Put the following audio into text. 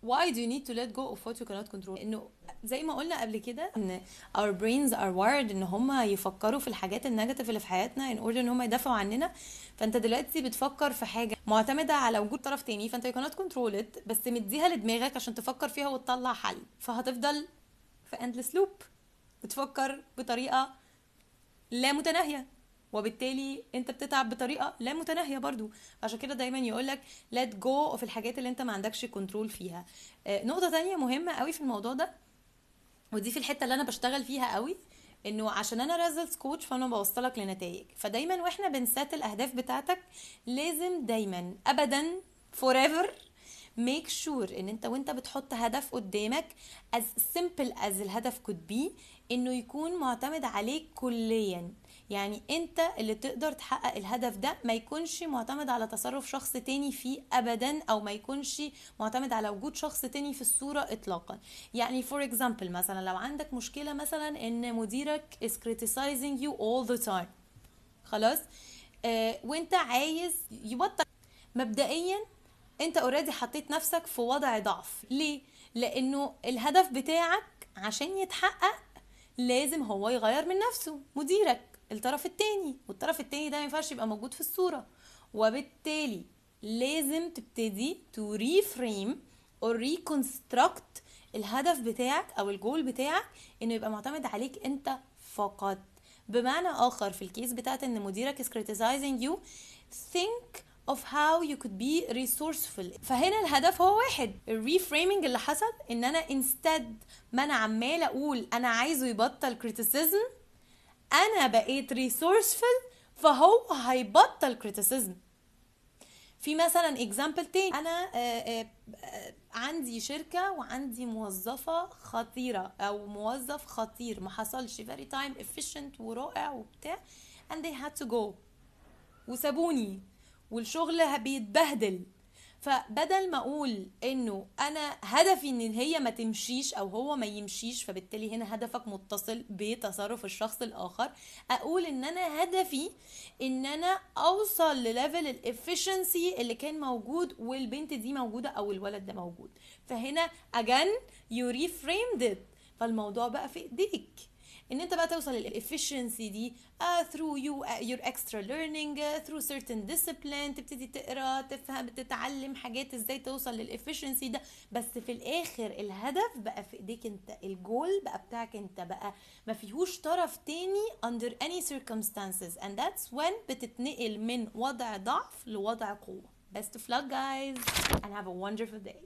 why do you need to let go of what you cannot control؟ انه زي ما قلنا قبل كده ان our brains are wired ان هم يفكروا في الحاجات النيجاتيف اللي في حياتنا in order ان هم يدافعوا عننا. فانت دلوقتي بتفكر في حاجه معتمده على وجود طرف تاني، فانت you cannot control it، بس مديها لدماغك عشان تفكر فيها وتطلع حل، فهتفضل في endless loop بتفكر بطريقه لا متناهيه، وبالتالي انت بتتعب بطريقه لا متناهيه برضو. عشان كده دايما يقولك let go في الحاجات اللي انت ما عندكش كنترول فيها. نقطه تانية مهمه قوي في الموضوع ده، ودي في الحته اللي انا بشتغل فيها قوي، انه عشان انا ريزلتس كوتش فانا بوصلك لنتائج. فدايما واحنا بنسات الاهداف بتاعتك لازم دايما ابدا forever make sure ان انت وانت بتحط هدف قدامك as simple as الهدف could be انه يكون معتمد عليك كليا. يعني انت اللي تقدر تحقق الهدف ده، ما يكونش معتمد على تصرف شخص تاني فيه ابدا، او ما يكونش معتمد على وجود شخص تاني في الصورة اطلاقا. يعني for example مثلا لو عندك مشكلة مثلا ان مديرك is criticizing you all the time، خلاص، وانت عايز يبطل. مبدئيا انت اوريدي حطيت نفسك في وضع ضعف. ليه؟ لانه الهدف بتاعك عشان يتحقق لازم هو يغير من نفسه، مديرك الطرف التاني، والطرف التاني ده ما ينفعش يبقى موجود في الصورة. وبالتالي لازم تبتدي to reframe or reconstruct الهدف بتاعك او الجول بتاعك انه يبقى معتمد عليك انت فقط. بمعنى اخر في الكيس بتاعت ان مديرك is criticizing you، think of how you could be resourceful. فهنا الهدف هو واحد، الريفريمينج اللي حصل ان انا instead ما انا عمال اقول انا عايزه يبطل criticism، انا بقيت resourceful فهو هيبطل criticism. في مثلا example تاني، انا عندي شركة وعندي موظفة خطيرة او موظف خطير ما حصلش very time efficient ورائع وبتاع and they had to go وسابوني والشغل بيتبهدل. فبدل ما اقول انه انا هدفي ان هي ما تمشيش او هو ما يمشيش، فبالتالي هنا هدفك متصل بتصرف الشخص الاخر، اقول ان انا هدفي ان انا اوصل لليفل الافشنسي اللي كان موجود والبنت دي موجودة او الولد ده موجود. فهنا again you reframed it، فالموضوع بقى في ايديك ان انت بقى توصل للافشنسي دي through your extra learning through certain discipline، تبتدي تقرا تفهم تتعلم حاجات ازاي توصل للافشنسي ده. بس في الاخر الهدف بقى في ايديك انت، الجول بقى بتاعك انت، بقى ما فيهوش طرف تاني under any circumstances and that's when بتتنقل من وضع ضعف لوضع قوة. Best of luck guys and have a wonderful day.